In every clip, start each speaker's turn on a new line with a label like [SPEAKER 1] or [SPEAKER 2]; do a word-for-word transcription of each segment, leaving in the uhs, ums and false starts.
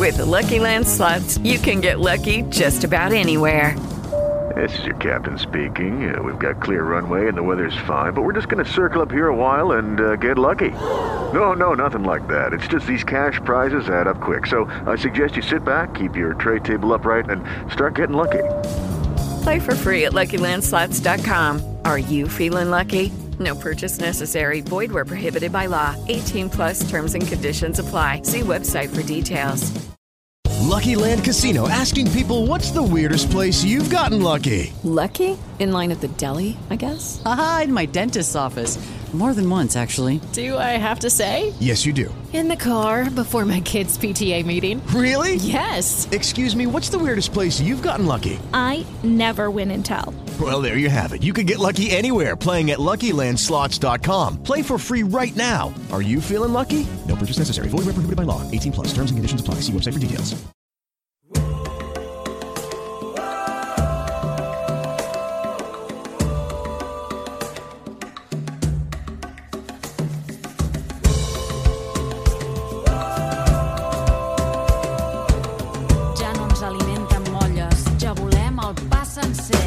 [SPEAKER 1] With the Lucky Land Slots, you can get lucky just about anywhere.
[SPEAKER 2] This is your captain speaking. Uh, we've got clear runway and the weather's fine, but we're just going to circle up here a while and uh, get lucky. No, no, nothing like that. It's just these cash prizes add up quick. So I suggest you sit back, keep your tray table upright, and start getting lucky.
[SPEAKER 1] Play for free at Lucky Land Slots dot com. Are you feeling lucky? No purchase necessary. Void where prohibited by law. eighteen plus terms and conditions apply. See website for details.
[SPEAKER 3] Lucky Land Casino, asking people, what's the weirdest place you've gotten lucky?
[SPEAKER 4] Lucky? In line at the deli, I guess?
[SPEAKER 5] Aha, in my dentist's office. More than once, actually.
[SPEAKER 4] Do I have to say?
[SPEAKER 3] Yes, you do.
[SPEAKER 4] In the car before my kids' P T A meeting.
[SPEAKER 3] Really?
[SPEAKER 4] Yes.
[SPEAKER 3] Excuse me, what's the weirdest place you've gotten lucky?
[SPEAKER 6] I never win and tell.
[SPEAKER 3] Well, there you have it. You can get lucky anywhere, playing at Lucky Land Slots dot com. Play for free right now. Are you feeling lucky? No purchase necessary. Void where prohibited by law. eighteen plus. Terms and conditions apply. See website for details.
[SPEAKER 7] Ja no ens alimenten molles, ja volem el pa sencer.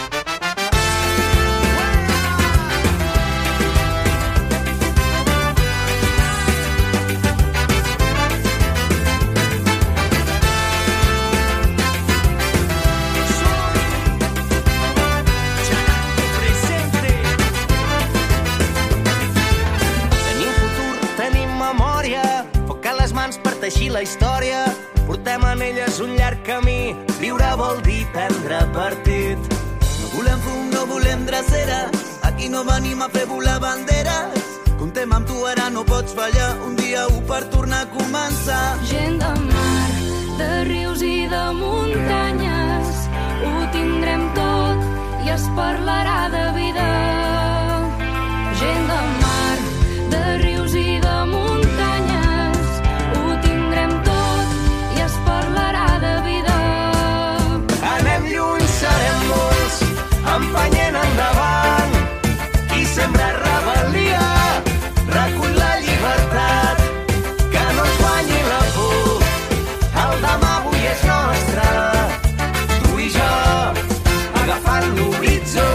[SPEAKER 8] Teixir la història, portem en elles un llarg camí. Viure vol dir prendre partit.
[SPEAKER 9] No volem fum, no volem dreceres, aquí no venim a fer volar banderes. Comptem amb tu, ara no pots fallar, un dia u per tornar a començar.
[SPEAKER 10] Gent de mar, de rius i de muntanyes, ho tindrem tot i es parlarà de vida. Gent de mar, de rius i de muntanyes, parlarà de vida.
[SPEAKER 8] Anem lluny, serem molts, empenyent endavant. Qui sembra rebel·lia, recull la llibertat. Que no ens guanyi la por, el demà avui és nostre. Tu i jo, agafant l'horitzó.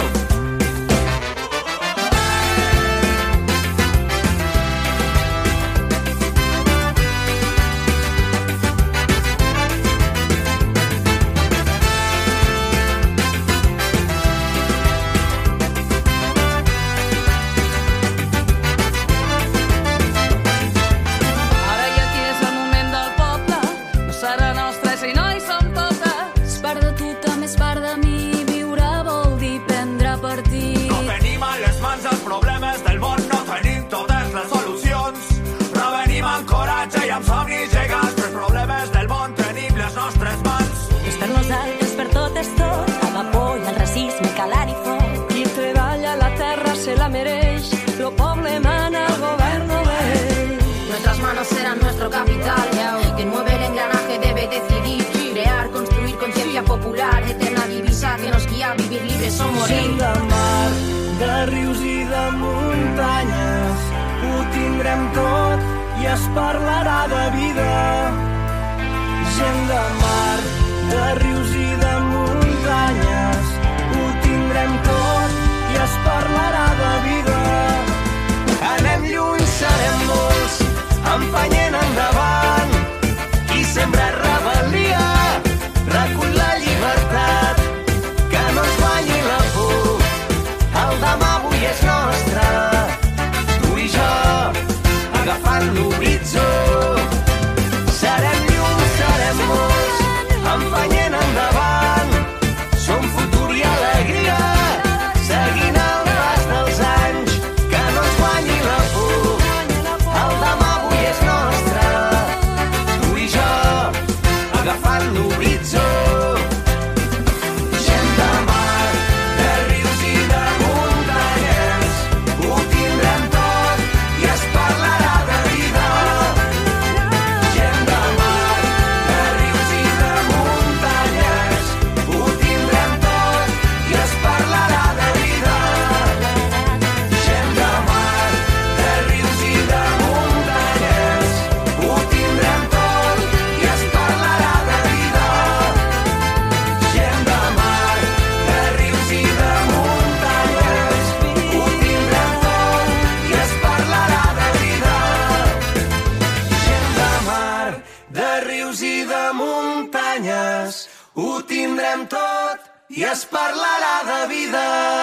[SPEAKER 11] Capital, quien mueve el engranaje debe decidir, crear, construir conciencia popular, eterna divisa que nos guía a vivir libres o morir.
[SPEAKER 8] Gent de mar, de rius i de muntanyes, ho tindrem tot i es parlarà de vida. Gent de mar, de rius i de muntanyes, ho tindrem tot i es parlarà de vida. Anem lluny, serem molts, empenyent endavant. Qui sembra rebel·lia, recull la llibertat. Que no ens guanyi la por, el demà avui és nostre. Tu i jo, agafant l'horitzó, serem mar, de rius i de muntanyes, ho tindrem tot i es parlarà de vida.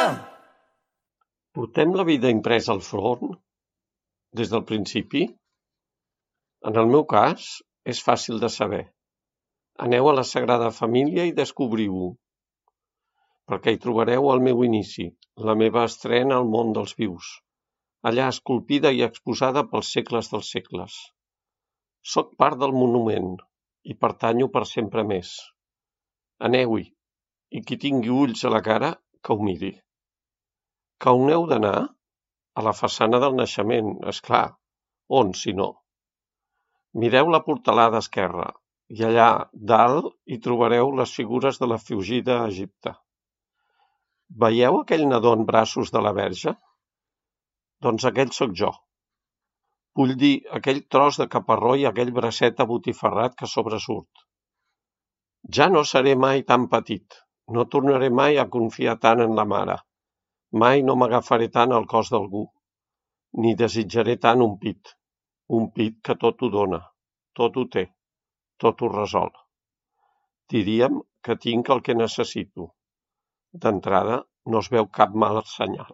[SPEAKER 12] Portem la vida impresa al front des del principi? En el meu cas, és fàcil de saber. Aneu a la Sagrada Família i descobriu-ho, perquè hi trobareu el meu inici, la meva estrena al món dels vius, allà esculpida i exposada pels segles dels segles. Soc part del monument i pertanyo per sempre més. Aneu-hi, i qui tingui ulls a la cara, que ho miri. Que on heu d'anar? A la façana del naixement, és clar. On, si no? Mireu la portalada esquerra, i allà, dalt, hi trobareu les figures de la fugida a Egipte. Veieu aquell nadó en braços de la Verge? Doncs aquell sóc jo. Vull dir, aquell tros de caparró i aquell bracet abotifarrat que sobresurt. Ja no seré mai tan petit, no tornaré mai a confiar tant en la mare, mai no m'agafaré tant al cos d'algú, ni desitjaré tant un pit, un pit que tot ho dona, tot ho té, tot ho resol. Diríem que tinc el que necessito. D'entrada, no es veu cap mal senyal.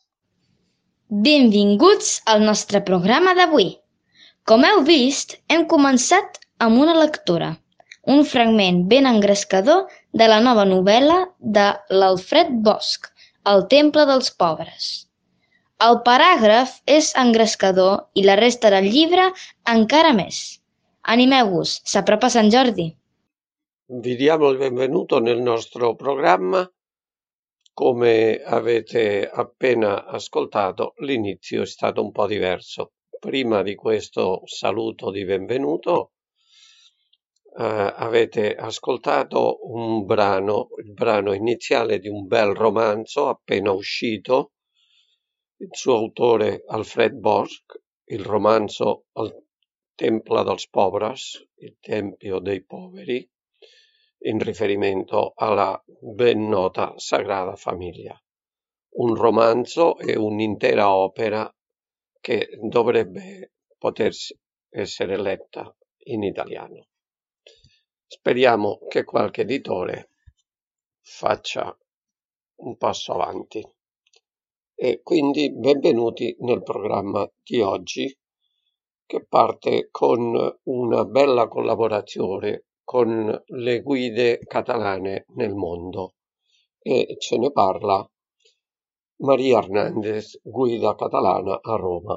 [SPEAKER 13] Benvinguts al nostre programa d'avui. Com heu vist, hem començat amb una lectura, un fragment ben engrescador de la nova novel·la de l'Alfred Bosch, El temple dels pobres. El paràgraf és engrescador i la resta del llibre encara més. Animeu-vos, s'apropa Sant Jordi.
[SPEAKER 12] Vi diamo il benvenuto nel nostro programma. Come avete appena ascoltato, l'inizio è stato un po' diverso. Prima di questo saluto di benvenuto, eh, avete ascoltato un brano, il brano iniziale di un bel romanzo appena uscito, il suo autore Alfred Bosch, il romanzo Il Temple dels Pobres, il Tempio dei Poveri, in riferimento alla ben nota Sagrada Famiglia. Un romanzo e un'intera opera che dovrebbe poter essere letta in italiano. Speriamo che qualche editore faccia un passo avanti. E quindi benvenuti nel programma di oggi, che parte con una bella collaborazione con le guide catalane nel mondo, e ce ne parla Maria Hernández, guida catalana a Roma.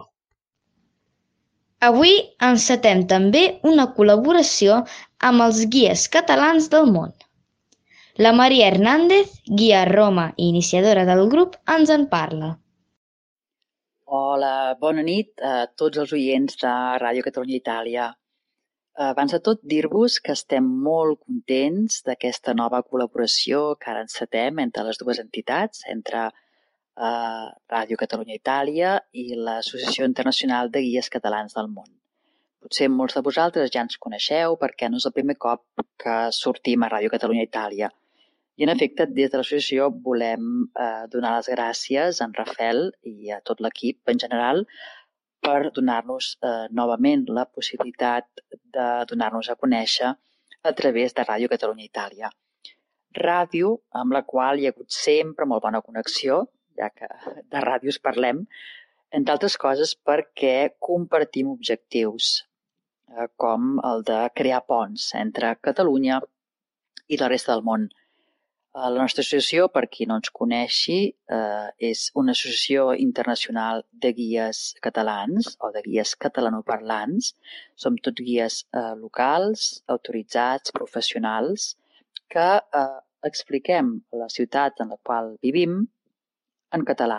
[SPEAKER 13] Avui encetem també una col·laboració amb els guies catalans del món. La Maria Hernández, guia a Roma i iniciadora del grup, ens en parla.
[SPEAKER 5] Hola, bona nit a tots els oients de Ràdio Catalunya Itàlia. Abans de tot, dir-vos que estem molt contents d'aquesta nova col·laboració que ara encetem entre les dues entitats, entre eh, Ràdio Catalunya Itàlia i l'Associació Internacional de Guies Catalans del Món. Potser molts de vosaltres ja ens coneixeu perquè no és el primer cop que sortim a Ràdio Catalunya Itàlia. I, en efecte, des de l'associació volem eh, donar les gràcies a en Rafel i a tot l'equip en general per donar-nos eh, novament la possibilitat de donar-nos a conèixer a través de Ràdio Catalunya Itàlia. Ràdio amb la qual hi ha hagut sempre molt bona connexió, ja que de ràdios parlem, entre altres coses perquè compartim objectius, eh, com el de crear ponts entre Catalunya i la resta del món. La nostra associació, per qui no ens coneixi, eh, és una associació internacional de guies catalans o de guies catalanoparlants. Som tots guies eh, locals, autoritzats, professionals, que eh, expliquem la ciutat en la qual vivim en català.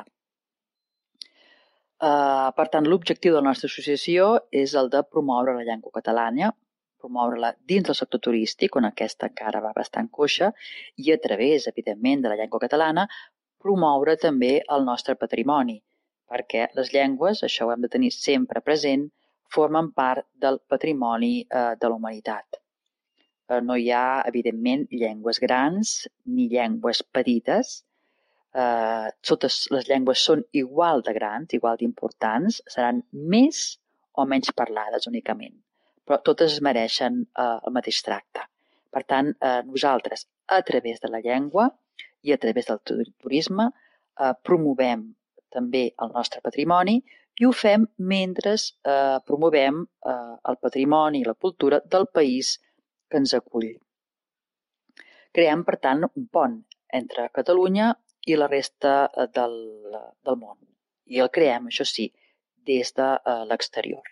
[SPEAKER 5] Eh, per tant, l'objectiu de la nostra associació és el de promoure la llengua catalana, promoure-la dins del sector turístic, on aquesta encara va bastant coixa, i a través, evidentment, de la llengua catalana, promoure també el nostre patrimoni, perquè les llengües, això ho hem de tenir sempre present, formen part del patrimoni eh, de la humanitat. Eh, no hi ha, evidentment, llengües grans ni llengües petites. Eh, totes les llengües són igual de grans, igual d'importants, seran més o menys parlades únicament. però totes es mereixen eh, el mateix tracte. Per tant, eh, nosaltres, a través de la llengua i a través del turisme, eh, promovem també el nostre patrimoni i ho fem mentre eh, promovem eh, el patrimoni i la cultura del país que ens acull. Creem, per tant, un pont entre Catalunya i la resta del, del món. I el creem, això sí, des de uh, l'exterior.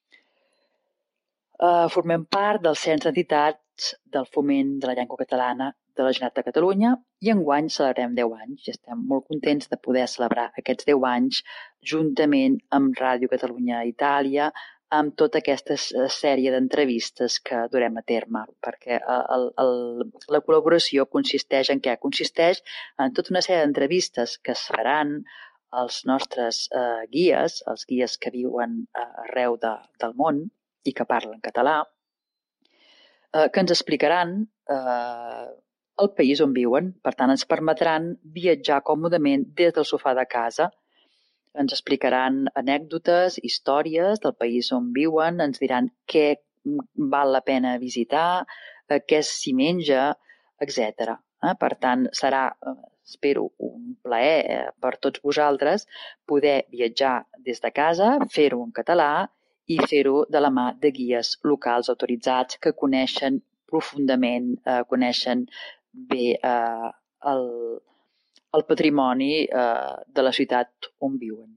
[SPEAKER 5] Uh, formem part del Cens d'Entitats del Foment de la Llengua Catalana de la Generalitat de Catalunya i enguany celebrem deu anys i estem molt contents de poder celebrar aquests deu anys juntament amb Ràdio Catalunya Itàlia, amb tota aquesta sèrie d'entrevistes que durem a terme, perquè el, el, la col·laboració consisteix en què? Consisteix en tota una sèrie d'entrevistes que es faran els nostres eh, guies, els guies que viuen eh, arreu de, del món i que parlen català, eh, que ens explicaran eh, el país on viuen. Per tant, ens permetran viatjar còmodament des del sofà de casa. Ens explicaran anècdotes, històries del país on viuen, ens diran què val la pena visitar, eh, què s'hi menja, etcètera. Eh? Per tant, serà, eh, espero, un plaer per tots vosaltres poder viatjar des de casa, fer-ho en català i fer-ho de la mà de guies locals autoritzats que coneixen profundament, eh, coneixen bé eh, el, el patrimoni eh, de la ciutat on viuen.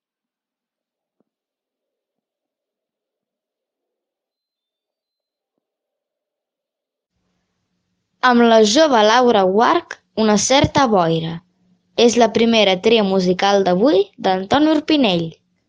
[SPEAKER 13] Amb la jove Laura Guarch, Una certa boira. És la primera tria musical d'avui d'Antoni Urpinell.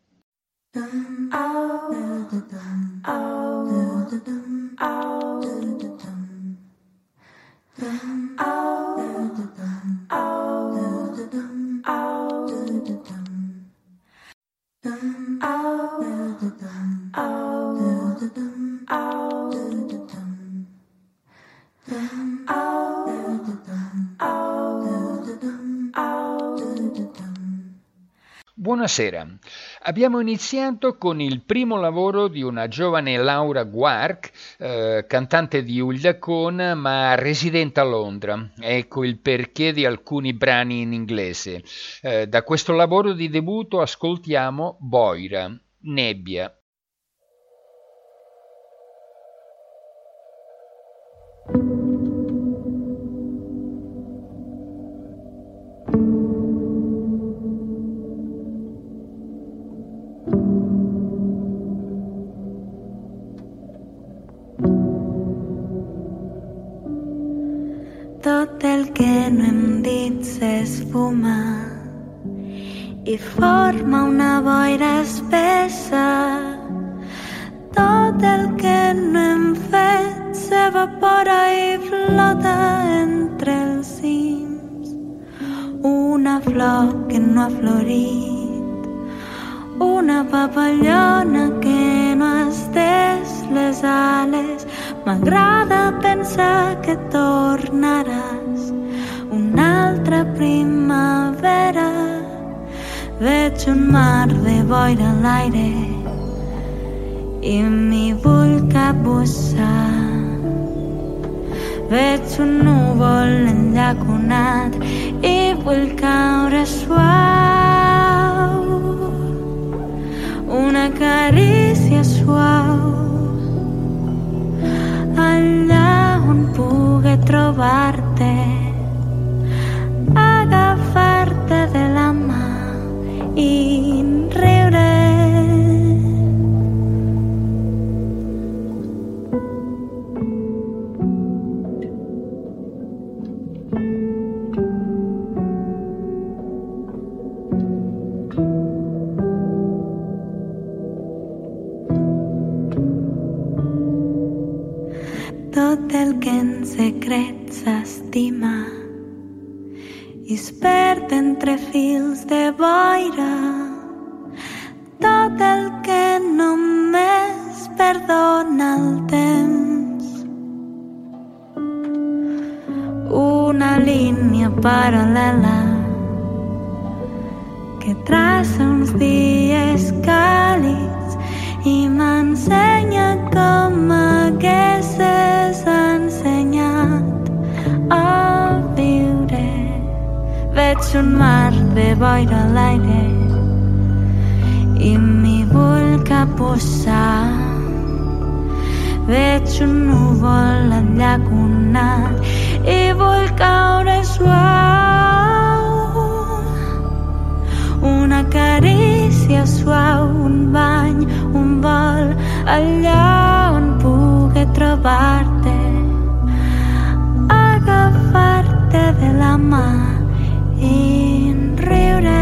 [SPEAKER 14] Buonasera, abbiamo iniziato con il primo lavoro di una giovane Laura Guarch, eh, cantante di Uldacon ma residente a Londra. Ecco il perché di alcuni brani in inglese. Eh, da questo lavoro di debutto ascoltiamo Boira, Nebbia.
[SPEAKER 15] Tot el que no hem dit s'esfuma i forma una boira espessa. Tot el que no hem fet s'evapora i flota entre els cims. Una flor que no ha florit, una papallona que no ha estès les ales. M'agrada pensar que tornaràs una altra primavera. Veig un mar de boira a l'aire i m'hi vull capbussar. Veig un núvol enllaconat i vull caure suau. Una carícia suau allà on pugui trobar-te, agafar-te de la mà i riure. Tot el que en secret s'estima i es perd entre fils de boira. Tot el que només perdona el temps. Una línia paral·lela que traça uns dies càlids i m'ensenya com haguessis ensenyat a viure. Veig un mar de boira a l'aire i m'hi vull capbussar. Veig un núvol enllaconat i vull caure suau. Una carícia suau, un bany, un vol, allà on pugui trobar-te, agafar-te de la mà i riure.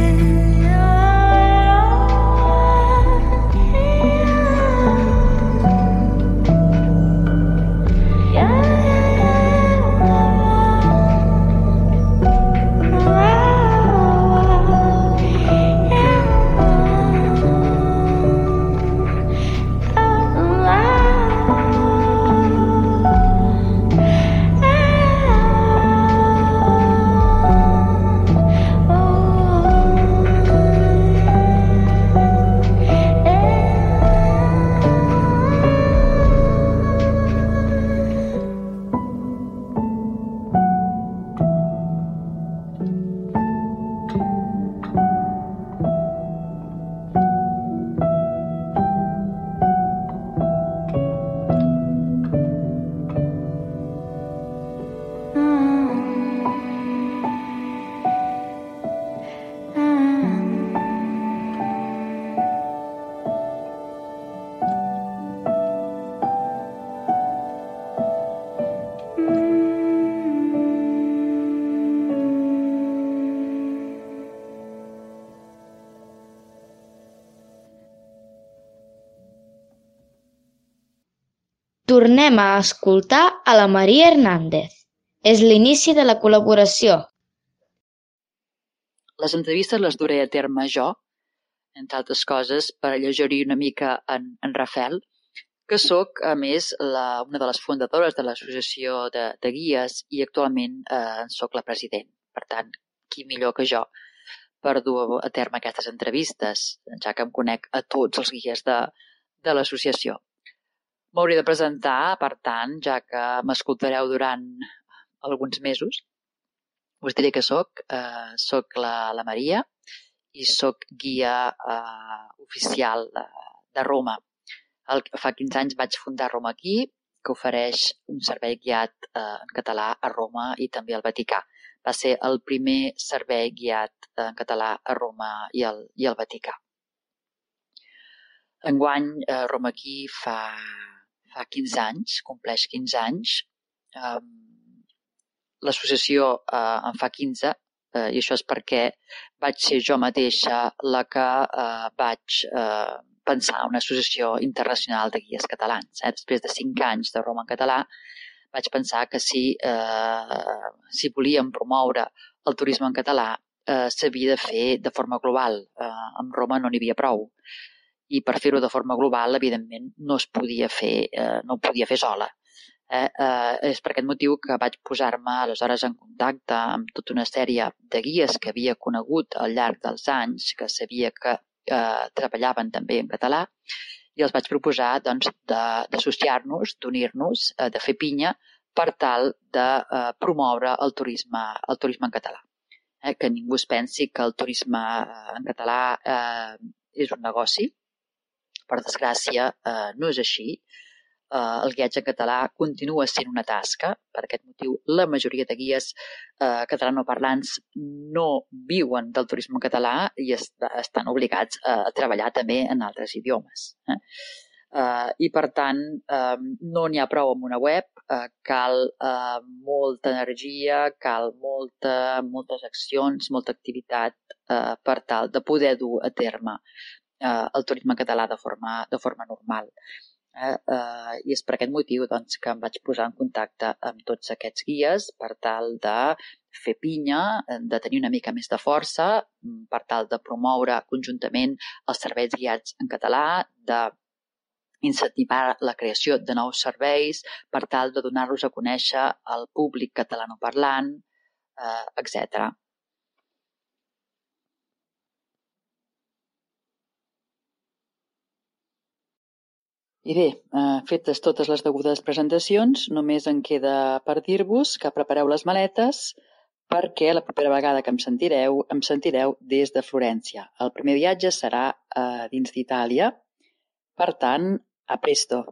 [SPEAKER 13] Tornem a escoltar a la Maria Hernández. És l'inici de la col·laboració.
[SPEAKER 5] Les entrevistes les duré a terme jo, entre altres coses, per alleugerir una mica en, en Rafel, que sóc, a més, la, una de les fundadores de l'associació de, de guies i actualment eh, sóc la president. Per tant, qui millor que jo per dur a terme aquestes entrevistes, ja que em conec a tots els guies de, de l'associació. M'hauré de presentar, per tant, ja que m'escoltareu durant alguns mesos. Us diré que soc, eh, soc la, la Maria i soc guia eh, oficial de, de Roma. El, fa quinze anys vaig fundar Roma Aquí, que ofereix un servei guiat eh, en català a Roma i també al Vaticà. Va ser el primer servei guiat en català a Roma i al, i al Vaticà. Enguany, eh, Roma Aquí fa... fa quinze anys, compleix quinze anys. Um, L'associació uh, en fa quinze, uh, i això és perquè vaig ser jo mateixa la que uh, vaig uh, pensar una associació internacional de guies catalans. Eh? Després de cinc anys de Roma en català, vaig pensar que si, uh, si volíem promoure el turisme en català, uh, s'havia de fer de forma global. Uh, amb Roma no n'hi havia prou. I per fer-ho de forma global, evidentment, no es podia fer, eh, no ho podia fer sola. Eh? Eh, és per aquest motiu que vaig posar-me aleshores en contacte amb tota una sèrie de guies que havia conegut al llarg dels anys, que sabia que eh, treballaven també en català, i els vaig proposar doncs, d'associar-nos, d'unir-nos, eh, de fer pinya per tal de eh, promoure el turisme, el turisme en català. Eh? Que ningú es pensi que el turisme en català eh, és un negoci. Per desgràcia, eh, no és així. Eh, el guiatge en català continua sent una tasca. Per aquest motiu, la majoria de guies eh, catalanoparlants no viuen del turisme en català i est estan obligats a treballar també en altres idiomes. Eh? Eh, I, per tant, eh, no n'hi ha prou amb una web. Eh, cal eh, molta energia, cal molta, moltes accions, molta activitat eh, per tal de poder dur a terme el turisme català de forma, de forma normal. Eh, eh, I és per aquest motiu doncs, que em vaig posar en contacte amb tots aquests guies per tal de fer pinya, de tenir una mica més de força, per tal de promoure conjuntament els serveis guiats en català, de incentivar la creació de nous serveis, per tal de donar-los a conèixer al públic catalanoparlant, eh, etcètera. I bé, eh, fetes totes les degudes presentacions, només em queda per dir-vos que prepareu les maletes perquè la propera vegada que em sentireu, em sentireu des de Florència. El primer viatge serà eh, dins d'Itàlia, per tant, a presto.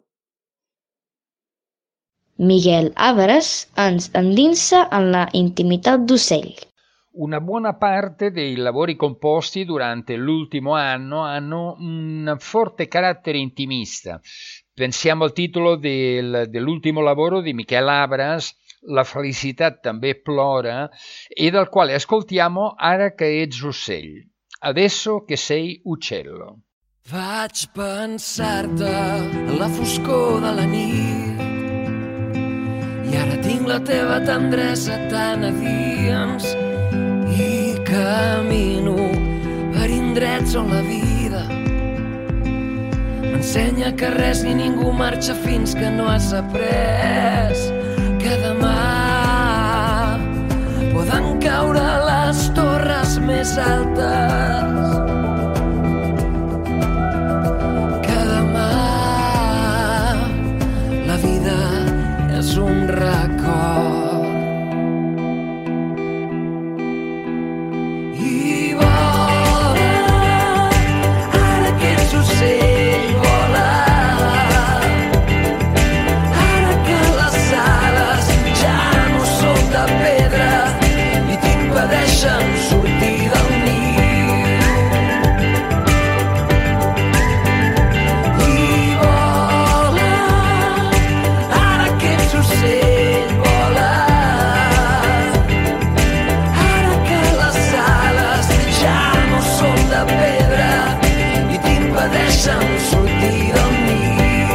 [SPEAKER 13] Miguel Álvarez ens endinsa en la intimitat d'Ocell.
[SPEAKER 14] Una buona parte dei lavori composti durante l'ultimo anno hanno un forte carattere intimista. Pensiamo al titolo del, dell'ultimo lavoro di Miquel Abras, La felicitat també plora, e dal quale ascoltiamo Ara che ets ocell, adesso che sei uccello.
[SPEAKER 16] Vaig pensar-te a la foscor de la nit i ara tinc la teva tendresa tan a dins i camino per indrets on la vida m'ensenya que res ni ningú marxa fins que no has après que demà poden caure les torres més altes, que demà la vida és un record. I vola, ara que ets ocell, vola, ara que les ales ja no són de pedra i t'impedeixen sortir del niu. I vola, ara que ets ocell, vola, ara que les ales ja no són de pedra i t'impedeixen sortir del niu.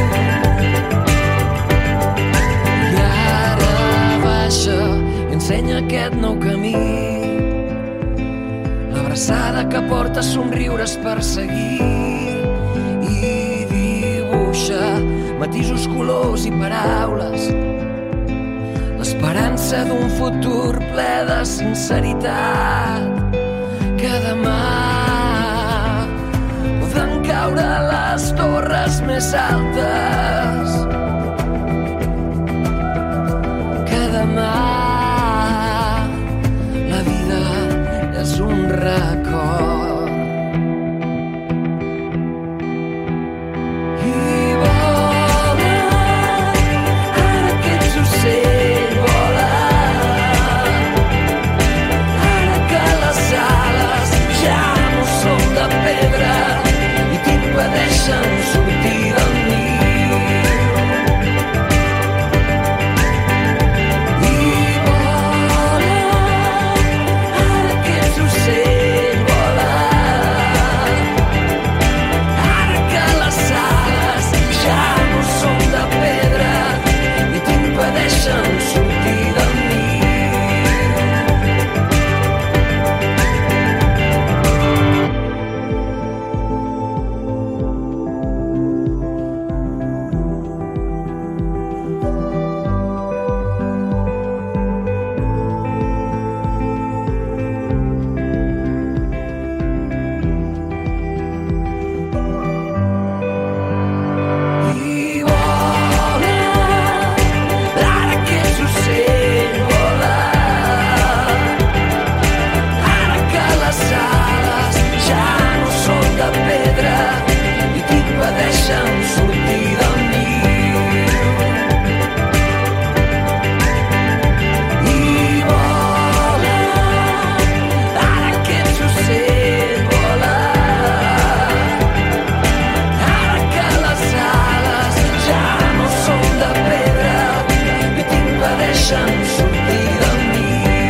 [SPEAKER 16] I ara baixa i ensenya aquest nou camí, l'abraçada que porta somriures per seguir i dibuixa matisos, colors i paraules, l'esperança d'un futur ple de sinceritat, que demà poden caure les torres més altes, que demà la vida és un record. I vola, ara que ets ocell, vola, ara que les ales ja no són de pedra i t'impedeixen sortir del niu. I vola, ara que ets ocell, vola, ara que les ales ja no són de pedra i t'impedeixen sortir del niu. I vola, ara que ets ocell, vola, ara que les ales ja no són de pedra i t'impedeixen sortir del niu. I vola, ara que ets ocell, vola, ara que les ales ja no són de pedra i t'impedeixen sortir del niu.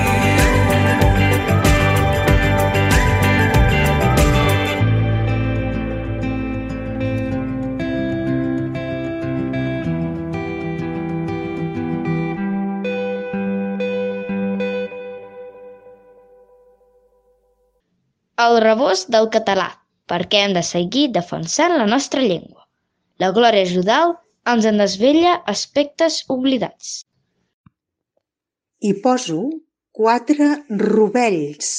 [SPEAKER 13] El rebost del català, perquè hem de seguir defensant la nostra llengua. La Glòria Judal ens en desvella aspectes oblidats.
[SPEAKER 17] Hi poso quatre rovells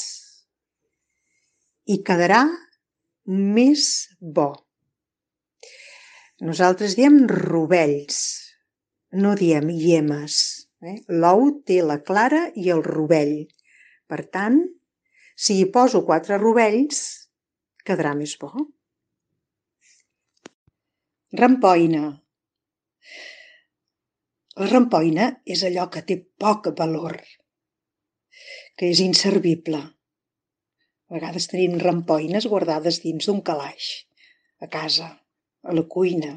[SPEAKER 17] i quedarà més bo. Nosaltres diem rovells, no diem iemes. Eh? L'ou té la clara i el rovell. Per tant, si hi poso quatre rovells, quedarà més bo. Rampoina. La rampoina és allò que té poc valor, que és inservible. A vegades tenim rampoines guardades dins d'un calaix, a casa, a la cuina.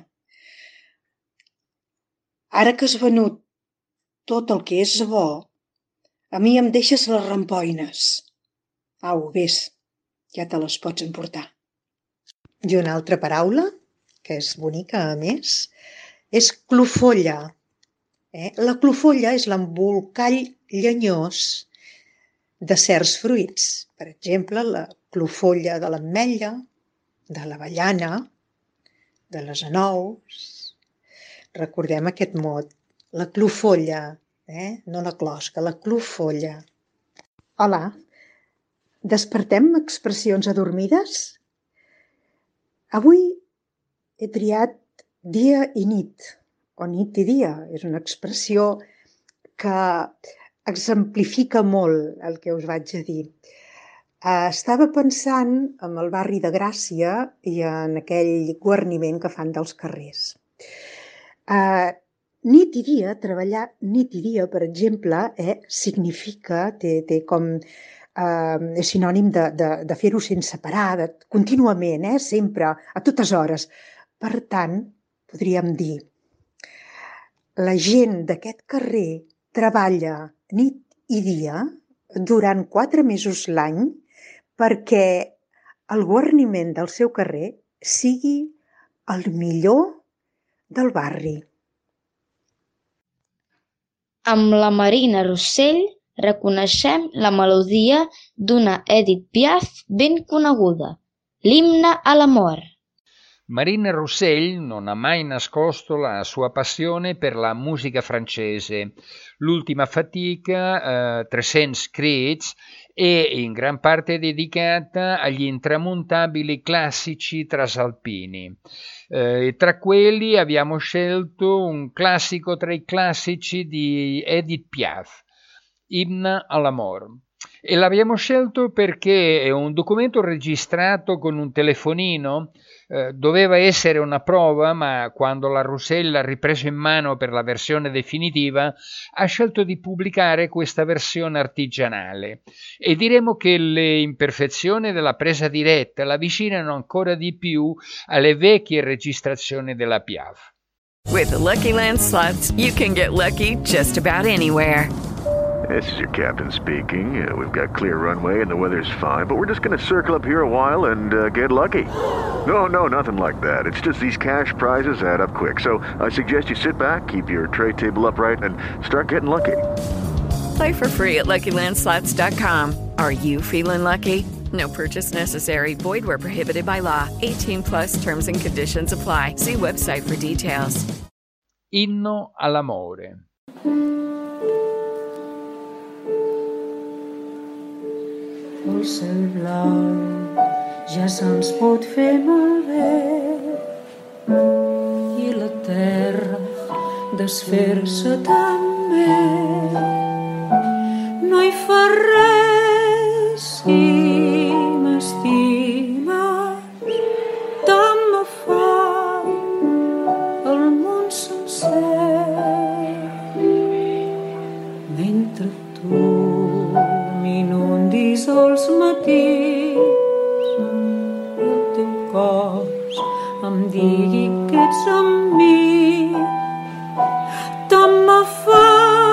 [SPEAKER 17] Ara que has venut tot el que és bo, a mi em deixes les rampoines. Au, vés, ja te les pots emportar. I una altra paraula, que és bonica a més, és clofolla. Eh? La clofolla és l'embolcall llenyós de certs fruits. Per exemple, la clofolla de l'ametlla, de l'avellana, de les anous. Recordem aquest mot, la clofolla, eh? No la closca, la clofolla. Hola, despertem expressions adormides? Avui he triat dia i nit, o nit i dia. És una expressió que exemplifica molt el que us vaig a dir. Estava pensant en el barri de Gràcia i en aquell guarniment que fan dels carrers. Uh, nit i dia, treballar nit i dia, per exemple, eh, significa, té, té com, uh, és sinònim de, de, de fer-ho sense parar, de, contínuament, eh, sempre, a totes hores. Per tant, podríem dir, la gent d'aquest carrer treballa nit i dia durant quatre mesos l'any perquè el guarniment del seu carrer sigui el millor del barri.
[SPEAKER 13] Amb la Marina Rossell reconeixem la melodia d'una Edith Piaf ben coneguda, l'Imne a l'amor.
[SPEAKER 14] Marina Rossell non ha mai nascosto la sua passione per la musica francese. L'ultima fatica, eh, trecento Crits, è in gran parte dedicata agli intramontabili classici trasalpini. Eh, tra quelli abbiamo scelto un classico tra i classici di Edith Piaf, Imne à l'amor. E l'abbiamo scelto perché è un documento registrato con un telefonino. Eh, doveva essere una prova, ma quando la Rossell l'ha ripreso in mano per la versione definitiva, ha scelto di pubblicare questa versione artigianale. E diremo che le imperfezioni della presa diretta l'avvicinano ancora di più alle vecchie registrazioni della Piaf.
[SPEAKER 1] With the Lucky Land Slots, you can get lucky just about anywhere.
[SPEAKER 2] This is your captain speaking. Uh, we've got clear runway and the weather's fine, but we're just going to circle up here a while and uh, get lucky. No, no, nothing like that. It's just these cash prizes add up quick. So I suggest you sit back, keep your tray table upright, and start getting lucky.
[SPEAKER 1] Play for free at Lucky Land Slots dot com. Are you feeling lucky? No purchase necessary. Void where prohibited by law. eighteen plus terms and conditions apply. See website for details.
[SPEAKER 14] Inno all'amore.
[SPEAKER 15] El cel blau ja se'ns pot fer malbé i la terra desfer-se també. No hi fa res si m'estimes, tant me fa el món sencer. Mentre tu m'inundis els matins i el teu cos em digui que ets amb mi, tant me fa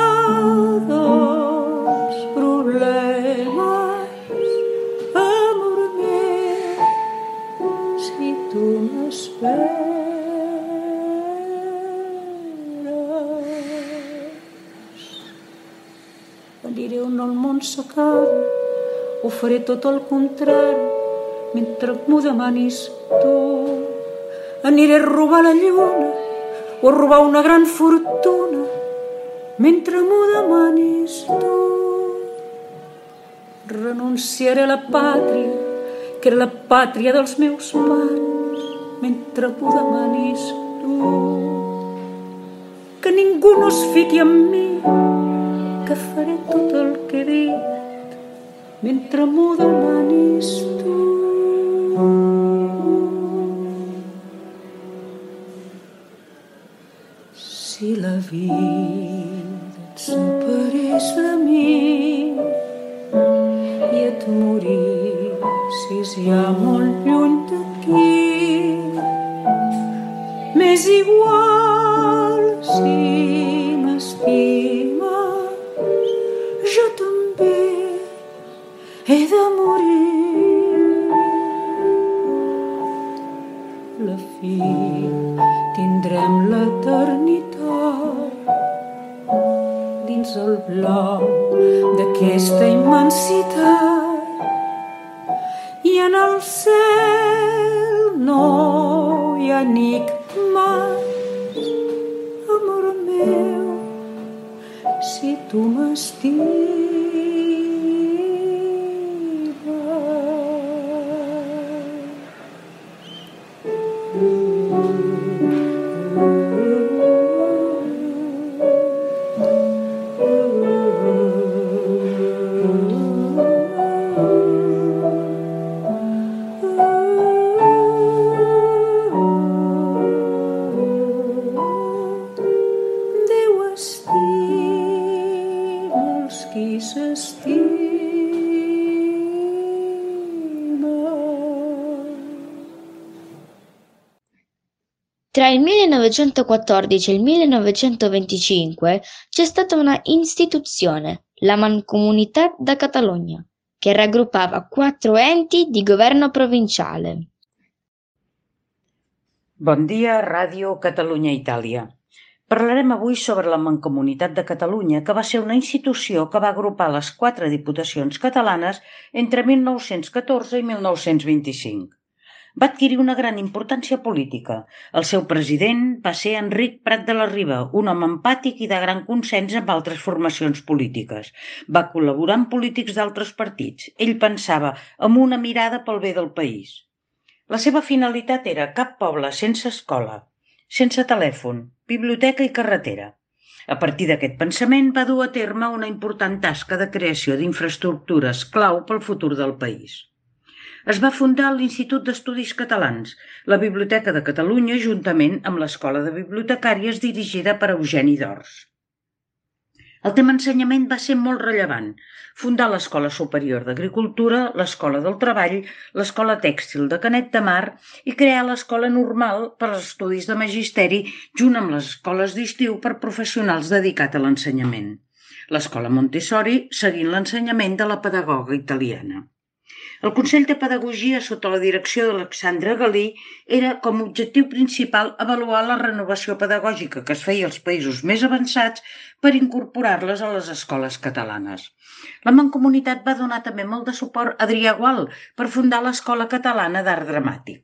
[SPEAKER 15] dos problemes, amor meu, si tu m'esperes. Aniré on el món s'acaba, ho faré tot el contrari mentre m'ho demanis tu. Aniré a robar la lluna o a robar una gran fortuna mentre m'ho demanis tu. Renunciaré a la pàtria, que era la pàtria dels meus pares, mentre m'ho demanis tu. que ningú no es fiqui amb mi, que faré tot el que he dit mentre m'ho demanis tu. Si la vida et separés de mi i et morissis ja molt lluny d'aquí, m'és igual si m'estimes, jo també he de morir. La fi tindrem l'eternitat dins el blanc d'aquesta immensitat i en el cel no hi ha enigmes, amor meu, si tu m'estimes.
[SPEAKER 13] Tra il millenovecentoquattordici e il millenovecentoventicinque c'è stata una istituzione, la Mancomunitat de Catalunya, che raggruppava quattro enti di governo provinciale.
[SPEAKER 18] Bon dia, Ràdio Catalunya Itàlia. Parlarem avui sobre la Mancomunitat de Catalunya, que va ser una institució que va agrupar les quatre diputacions catalanes entre mil nou-cents catorze i mil nou-cents vint-i-cinc. Va adquirir una gran importància política. El seu president va ser Enric Prat de la Riba, un home empàtic i de gran consens amb altres formacions polítiques. Va col·laborar amb polítics d'altres partits. Ell pensava amb una mirada pel bé del país. La seva finalitat era cap poble sense escola, sense telèfon, biblioteca i carretera. A partir d'aquest pensament va dur a terme una important tasca de creació d'infraestructures clau pel futur del país. Es va fundar l'Institut d'Estudis Catalans, la Biblioteca de Catalunya, juntament amb l'Escola de Bibliotecàries dirigida per Eugeni d'Ors. El tema ensenyament va ser molt rellevant. Fundar l'Escola Superior d'Agricultura, l'Escola del Treball, l'Escola Tèxtil de Canet de Mar i crear l'Escola Normal per als estudis de magisteri, junt amb les escoles d'estiu per professionals dedicats a l'ensenyament. L'Escola Montessori, seguint l'ensenyament de la pedagoga italiana. El Consell de Pedagogia, sota la direcció d'Alexandre Galí, era com a objectiu principal avaluar la renovació pedagògica que es feia als països més avançats per incorporar-les a les escoles catalanes. La Mancomunitat va donar també molt de suport a Adrià Gual per fundar l'Escola Catalana d'Art Dramàtic.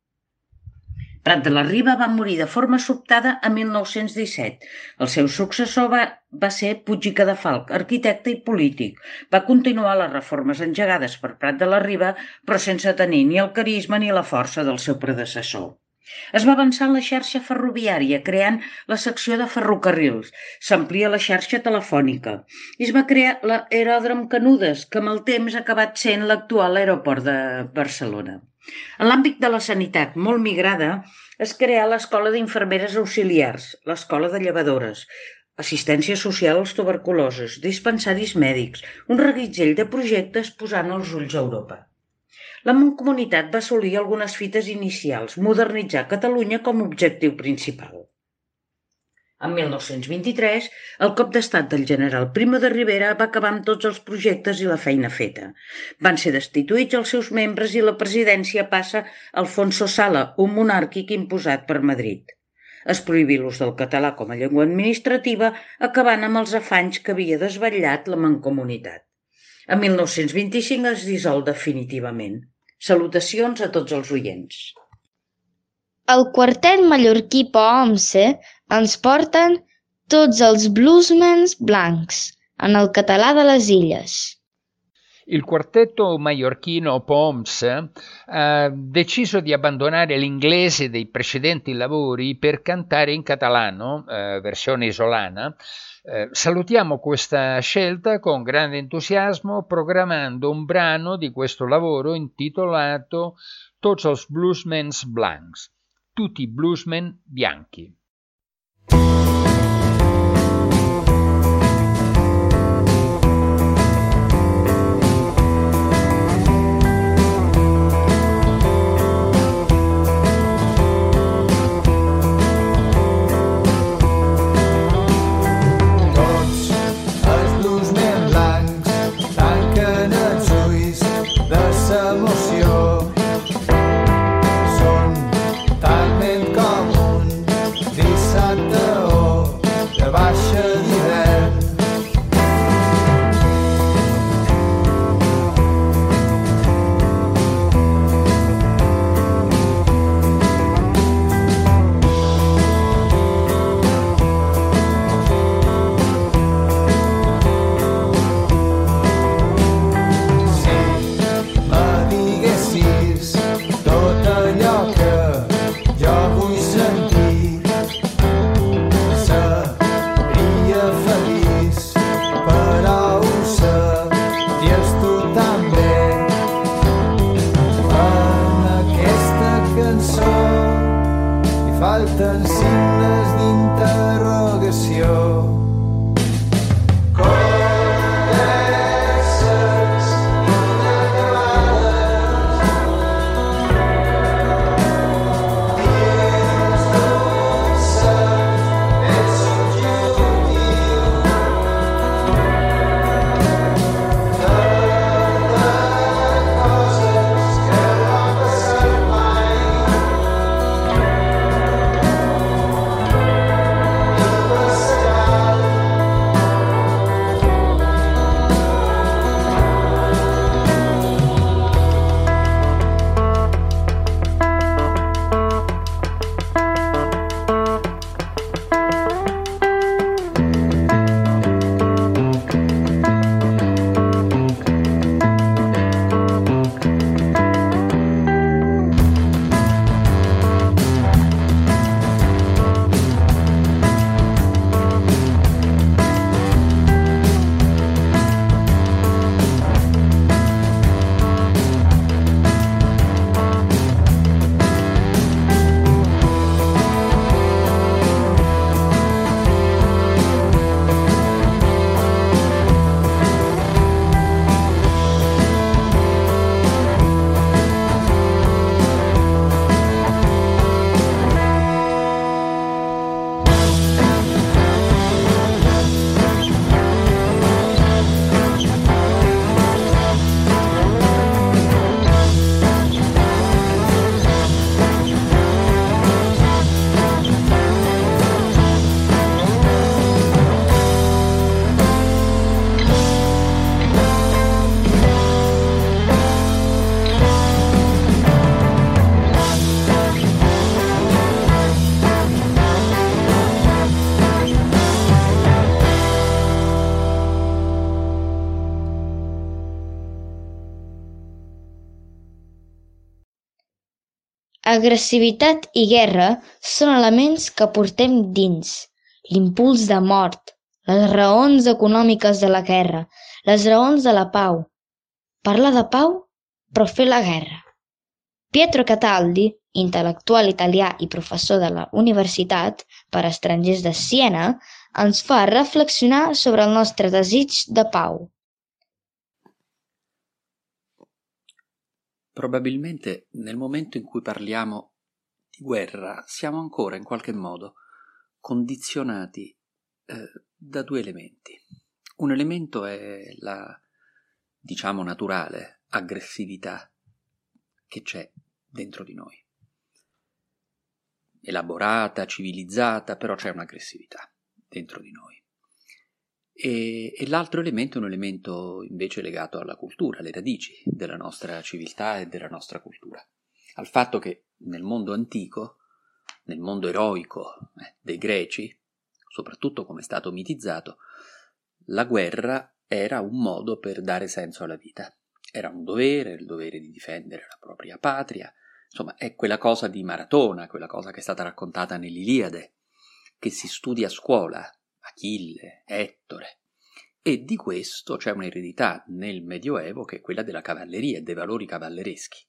[SPEAKER 18] Prat de la Riba va morir de forma sobtada a mil nou-cents disset. El seu successor va, va ser Puig i Cadafalch, arquitecte i polític. Va continuar les reformes engegades per Prat de la Riba, però sense tenir ni el carisma ni la força del seu predecessor. Es va avançar en la xarxa ferroviària, creant la secció de ferrocarrils. S'amplia la xarxa telefònica. I es va crear l'aeròdrom Canudes, que amb el temps ha acabat sent l'actual aeroport de Barcelona. En l'àmbit de la sanitat, molt migrada, es creà l'Escola d'Infermeres Auxiliars, l'Escola de Llevadores, assistència social als tuberculosos, dispensaris mèdics, un reguitzell de projectes posant els ulls a Europa. La Mancomunitat va assolir algunes fites inicials, modernitzar Catalunya com a objectiu principal. En mil nou-cents vint-i-tres, el cop d'estat del general Primo de Rivera va acabar amb tots els projectes i la feina feta. Van ser destituïts els seus membres i la presidència passa a Alfonso Sala, un monàrquic imposat per Madrid. Es prohibí l'ús del català com a llengua administrativa, acabant amb els afanys que havia desvetllat la Mancomunitat. En mil nou-cents vint-i-cinc es dissol definitivament. Salutacions a tots els oients.
[SPEAKER 13] El quartet mallorquí Poomse ens porten Tots els bluesmans blancs, en el català de les illes.
[SPEAKER 14] Il quartetto maiorchino Poms ha deciso di abbandonare l'inglese dei precedenti lavori per cantare in catalano, eh, versione isolana. Eh, salutiamo questa scelta con grande entusiasmo, programmando un brano di questo lavoro intitolato Tots els bluesmens blancs, tutti i bluesmen bianchi.
[SPEAKER 19] Falten signes d'interrogació. Converses inacabades dins d'un secret subjectiu de coses que no han passat mai.
[SPEAKER 13] Agressivitat i guerra són elements que portem dins. L'impuls de mort, les raons econòmiques de la guerra, les raons de la pau. Parlar de pau, però fer la guerra. Pietro Cataldi, intel·lectual italià i professor de la Universitat per a Estrangers de Siena, ens fa reflexionar sobre el nostre desig de pau.
[SPEAKER 20] Probabilmente nel momento in cui parliamo di guerra siamo ancora in qualche modo condizionati eh, da due elementi. Un elemento è la, diciamo, naturale aggressività che c'è dentro di noi. Elaborata, civilizzata, però c'è un'aggressività dentro di noi. E, e l'altro elemento è un elemento invece legato alla cultura, alle radici della nostra civiltà e della nostra cultura, al fatto che nel mondo antico, nel mondo eroico eh, dei greci, soprattutto come è stato mitizzato, la guerra era un modo per dare senso alla vita, Era un dovere, il dovere di difendere la propria patria. Insomma, è quella cosa di Maratona, quella cosa che è stata raccontata nell'Iliade, che si studia a scuola, Achille, Ettore. E di questo c'è un'eredità nel Medioevo che è quella della cavalleria e dei valori cavallereschi.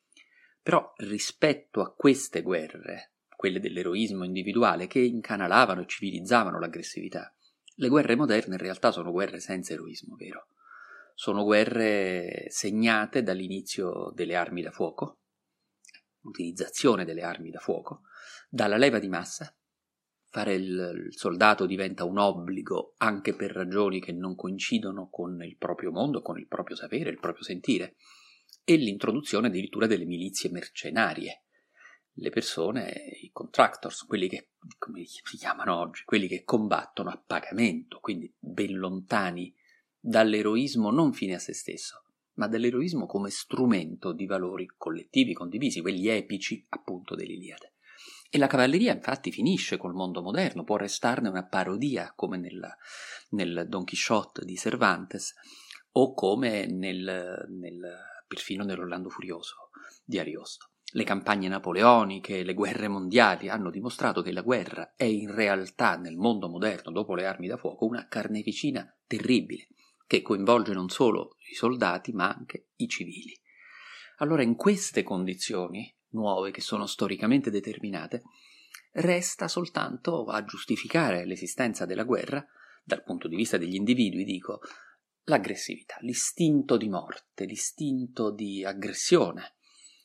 [SPEAKER 20] Però rispetto a queste guerre, quelle dell'eroismo individuale che incanalavano e civilizzavano l'aggressività, le guerre moderne in realtà sono guerre senza eroismo vero. Sono guerre segnate dall'inizio delle armi da fuoco, l'utilizzazione delle armi da fuoco, dalla leva di massa. Fare il, il soldato diventa un obbligo anche per ragioni che non coincidono con il proprio mondo, con il proprio sapere, il proprio sentire, e l'introduzione addirittura delle milizie mercenarie. Le persone, i contractors, quelli che, come si chiamano oggi, quelli che combattono a pagamento, quindi ben lontani dall'eroismo non fine a se stesso, ma dall'eroismo come strumento di valori collettivi condivisi, quelli epici appunto dell'Iliade. E la cavalleria infatti finisce col mondo moderno, può restarne una parodia come nella, nel Don Chisciotte di Cervantes o come nel, nel, perfino nell'Orlando Furioso di Ariosto. Le campagne napoleoniche, le guerre mondiali hanno dimostrato che la guerra è in realtà nel mondo moderno, dopo le armi da fuoco, una carneficina terribile che coinvolge non solo i soldati ma anche i civili. Allora in queste condizioni nuove che sono storicamente determinate, resta soltanto a giustificare l'esistenza della guerra, dal punto di vista degli individui, dico, l'aggressività, l'istinto di morte, l'istinto di aggressione,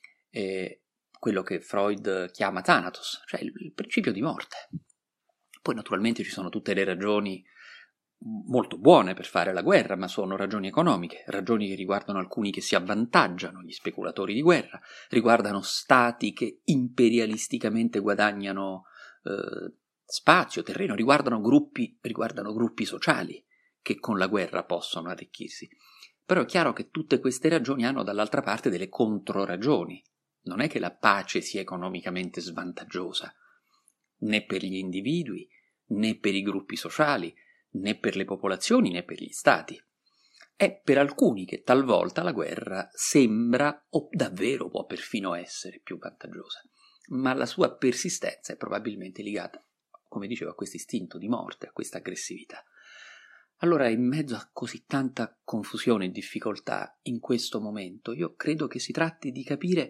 [SPEAKER 20] eh, quello che Freud chiama Thanatos, cioè il, il principio di morte. Poi naturalmente ci sono tutte le ragioni molto buone per fare la guerra, ma sono ragioni economiche, ragioni che riguardano alcuni che si avvantaggiano, gli speculatori di guerra, riguardano stati che imperialisticamente guadagnano eh, spazio, terreno, riguardano gruppi, riguardano gruppi sociali che con la guerra possono arricchirsi. Però è chiaro che tutte queste ragioni hanno dall'altra parte delle controragioni. Non è che la pace sia economicamente svantaggiosa, né per gli individui, né per i gruppi sociali, né per le popolazioni né per gli stati. È per alcuni che talvolta la guerra sembra o davvero può perfino essere più vantaggiosa, ma la sua persistenza è probabilmente legata, come dicevo, a questo istinto di morte, a questa aggressività. Allora, in mezzo a così tanta confusione e difficoltà in questo momento, io credo che si tratti di capire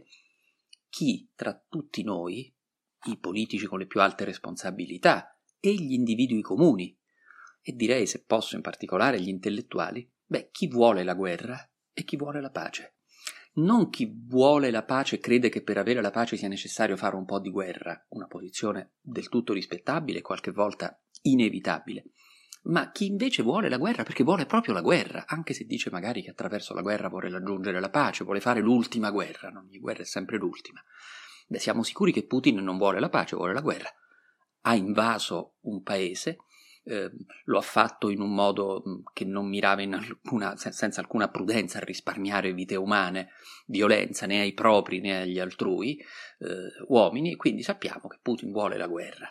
[SPEAKER 20] chi tra tutti noi, i politici con le più alte responsabilità e gli individui comuni, e direi, se posso, in particolare gli intellettuali, beh, chi vuole la guerra e chi vuole la pace. Non chi vuole la pace crede che per avere la pace sia necessario fare un po' di guerra, una posizione del tutto rispettabile e qualche volta inevitabile, ma chi invece vuole la guerra perché vuole proprio la guerra, anche se dice magari che attraverso la guerra vuole raggiungere la pace, vuole fare l'ultima guerra, non? Ogni guerra è sempre l'ultima. Beh, siamo sicuri che Putin non vuole la pace, vuole la guerra. Ha invaso un paese, Eh, lo ha fatto in un modo che non mirava in alcuna, senza alcuna prudenza a risparmiare vite umane, violenza né ai propri né agli altrui eh, uomini, quindi sappiamo che Putin vuole la guerra.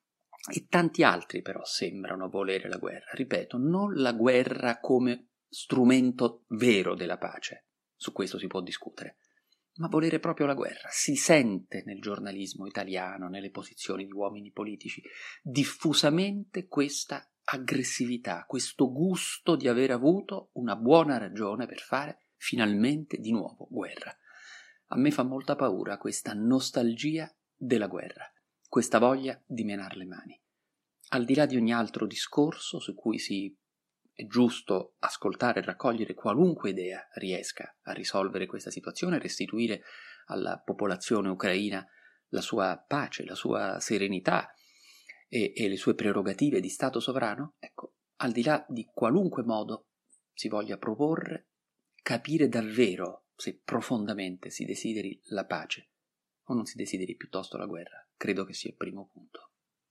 [SPEAKER 20] E tanti altri però sembrano volere la guerra, ripeto, non la guerra come strumento vero della pace, su questo si può discutere, ma volere proprio la guerra. Si sente nel giornalismo italiano, nelle posizioni di uomini politici, diffusamente questa aggressività, questo gusto di aver avuto una buona ragione per fare finalmente di nuovo guerra. A me fa molta paura questa nostalgia della guerra, questa voglia di menar le mani. Al di là di ogni altro discorso su cui si è giusto ascoltare e raccogliere qualunque idea riesca a risolvere questa situazione e restituire alla popolazione ucraina la sua pace, la sua serenità e, e le sue prerogative di Stato sovrano, ecco, al di là di qualunque modo si voglia proporre, capire davvero se profondamente si desideri la pace o non si desideri piuttosto la guerra, credo che sia il primo punto.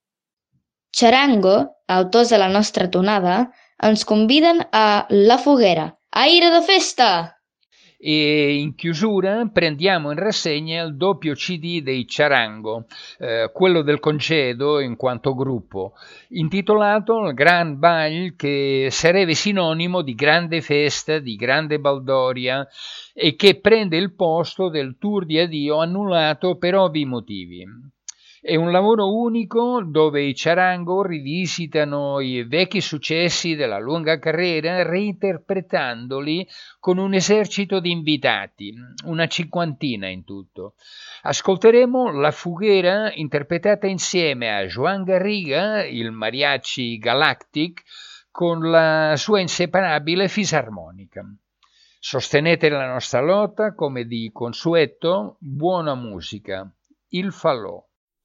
[SPEAKER 13] Charango, autors de la nostra tonada, ens conviden a La Foguera. Aire de festa!
[SPEAKER 14] E in chiusura prendiamo in rassegna il doppio C D dei Ciarango, eh, quello del congedo in quanto gruppo, intitolato Il Gran Bal, che sarebbe sinonimo di grande festa, di grande baldoria, e che prende il posto del tour di addio annullato per ovvi motivi. È un lavoro unico dove i Ciarango rivisitano i vecchi successi della lunga carriera reinterpretandoli con un esercito di invitati, una cinquantina in tutto. Ascolteremo La Fughera interpretata insieme a Joan Garriga, il Mariachi Galactic, con la sua inseparabile fisarmonica. Sostenete la nostra lotta come di consueto, buona musica, il falò.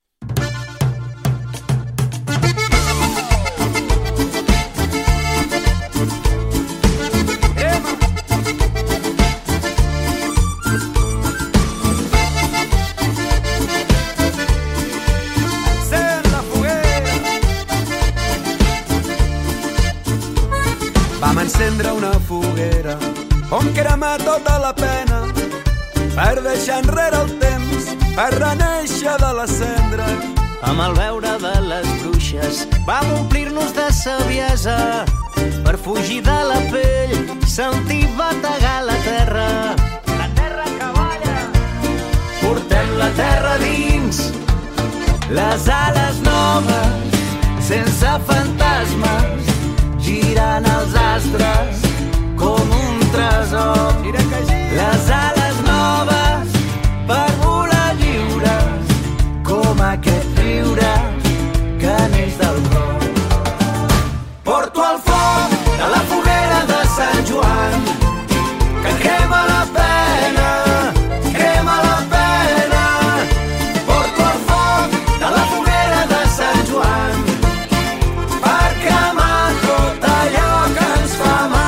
[SPEAKER 21] Vam encendre una foguera on crema tota la pena per deixar enrere el temps, per renéixer de la cendra.
[SPEAKER 22] Amb el veure de les bruixes vam omplir-nos de saviesa per fugir de la pell, sentir bategar la terra. La terra que balla.
[SPEAKER 21] Portem la terra dins,
[SPEAKER 22] les ales noves, sense fantasmes, girant els astres com un tresor. Les ales noves per volar lliures, com aquest riure que neix del cor.
[SPEAKER 21] Porto el foc de la foguera de Sant Joan, que crema la pena, crema la pena. Porto el foc de la foguera de Sant Joan, per cremar tot allò que ens fa mal.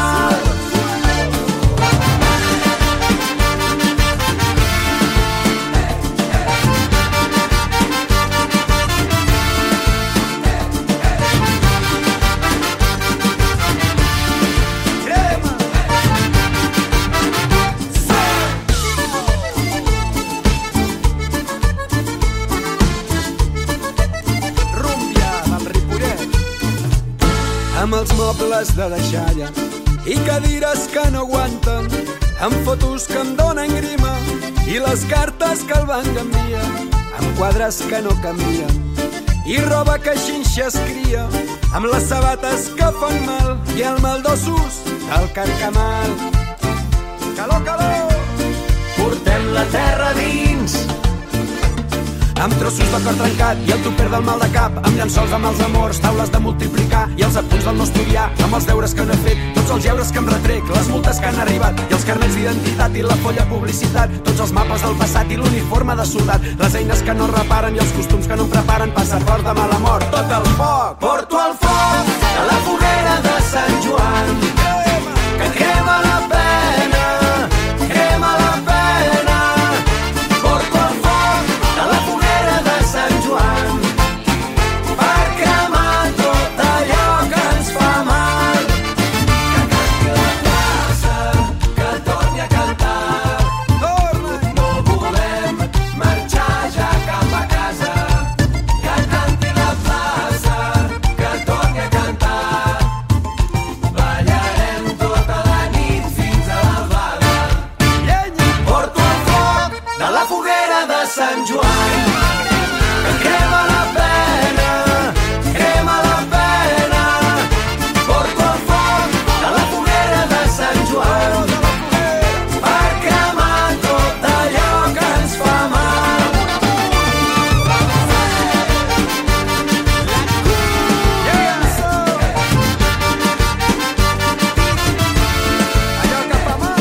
[SPEAKER 21] Amb els mobles de deixalla i cadires que no aguanten, amb fotos que em donen grima i les cartes que el banc envia, amb quadres que no canvien i roba que xinxa es cria, amb les sabates que fan mal i el mal d'ossos del carcamal. Calor, calor! Portem la terra dins, amb trossos de cor trencat i el tupper del mal de cap, amb llençols amb els amors, taules de multiplicar i els apunts del no estudiar, amb els deures que no he fet, tots els lleures que em retrec, les multes que han arribat i els carnets d'identitat i la folla publicitat, tots els mapes del passat i l'uniforme de soldat, les eines que no reparen i els costums que no em preparen, passaport de mala mort, tot el foc. Porto el foc de la foguera de Sant Joan, que crema la pena, crema la pena. Porto el foc de la foguera de Sant Joan, per cremar tot allò que ens fa mal. Que canti la plaça, que torni a cantar. Torna! No volem marxar ja cap a casa. Que canti la plaça, que torni a cantar. Ballarem tota la nit fins a l'albada. Porto el foc de la foguera de Sant Joan, que crema la pena, crema la pena. Porto el foc de la foguera de Sant Joan, per cremar tot allò que ens fa mal. Allò que fa mal.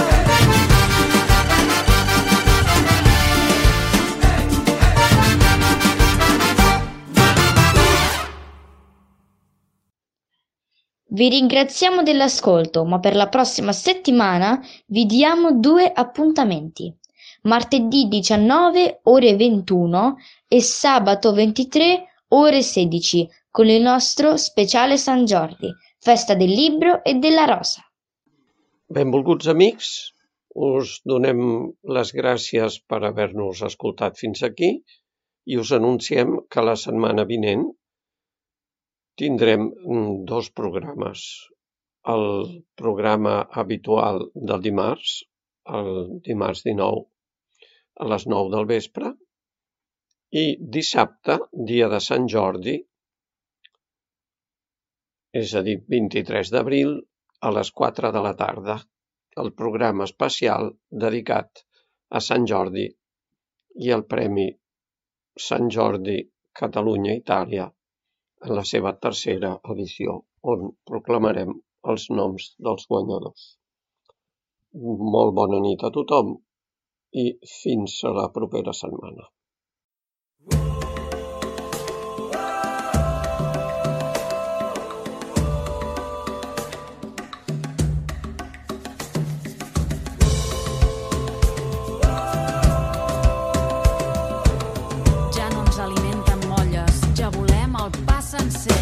[SPEAKER 13] Vi ringraziamo dell'ascolto, ma per la prossima settimana vi diamo due appuntamenti. Martedì diciannove ore ventuno e sabato ventitré ore sedici con il nostro speciale Sant Jordi, festa del libro e della rosa.
[SPEAKER 12] Benvolguts amics, us donem les gràcies per haver-nos escoltat fins aquí i us anunciem que la setmana vinent tindrem dos programes. El programa habitual del dimarts, el dimarts dinou a les nou del vespre, i dissabte, dia de Sant Jordi, és a dir, vint-i-tres d'abril, a les quatre de la tarda, el programa especial dedicat a Sant Jordi i el Premi Sant Jordi Catalunya-Itàlia en la seva tercera edició, on proclamarem els noms dels guanyadors. Molt bona nit a tothom i fins a la propera setmana.
[SPEAKER 7] Ja no ens alimenten molles, ja volem el pa sencer.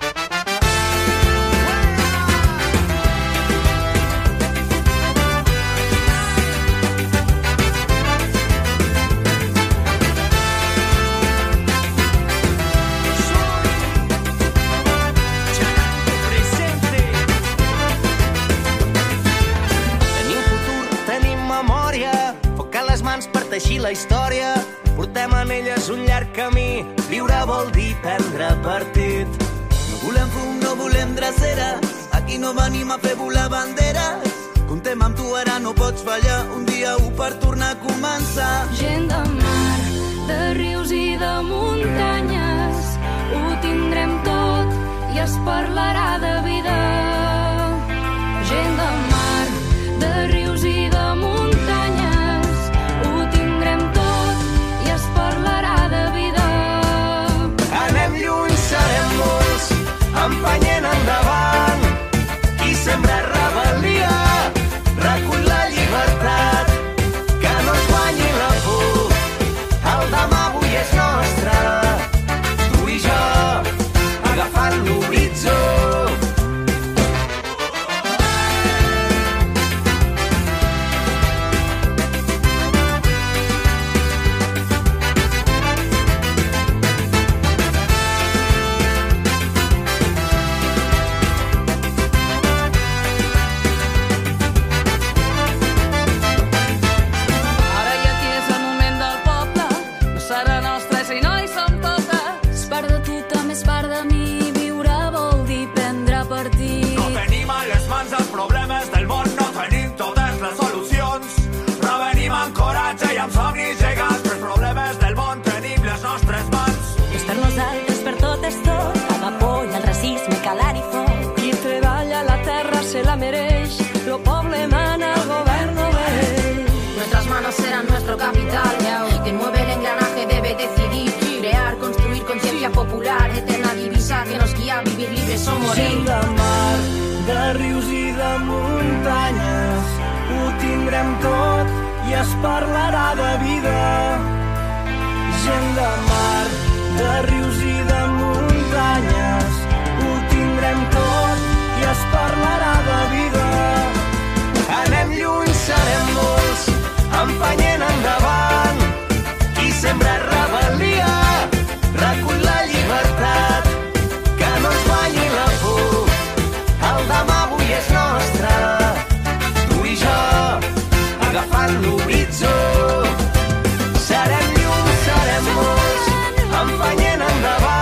[SPEAKER 22] Teixir la història, portem en elles un llarg camí. Viure vol dir prendre partit.
[SPEAKER 9] No volem fum, no volem drecera, aquí no venim a fer volar banderes. Contem amb tu, ara no pots fallar, un dia u per tornar a començar.
[SPEAKER 10] Gent de mar, de rius i de muntanyes, ho tindrem tot i es parlarà de vida. Gent de mar, de rius i de muntanyes, ho tindrem tot i es parlarà de vida.
[SPEAKER 22] Anem lluny, serem molts, empenyent endavant. Qui sembra rebel·lia, recull la llibertat. Que no ens guanyi la por, el demà avui és nostre. Tu i jo, agafant l'horitzó.
[SPEAKER 10] Lo poble mana, gobierno ve.
[SPEAKER 11] Nuestras manos serán nuestro capital. Quien mueve el engranaje debe decidir. Crear, construir conciencia popular. Eterna divisa que nos guía a vivir libres o morir.
[SPEAKER 22] Gent de mar, de rius i de muntanyes, ho tindrem tot i es parlarà de vida. Gent de mar, de rius i de muntanyes, ho tindrem tot i es parlarà de vida. Anem lluny, serem molts, empenyent endavant. Qui sembra rebel·lia, recull la llibertat. Que no ens guanyi la por, el demà avui és nostre. Tu i jo, agafant l'horitzó. Serem llum, serem molts, empenyent endavant.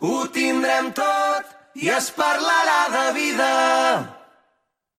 [SPEAKER 22] ho tindrem tot i es parlarà de vida.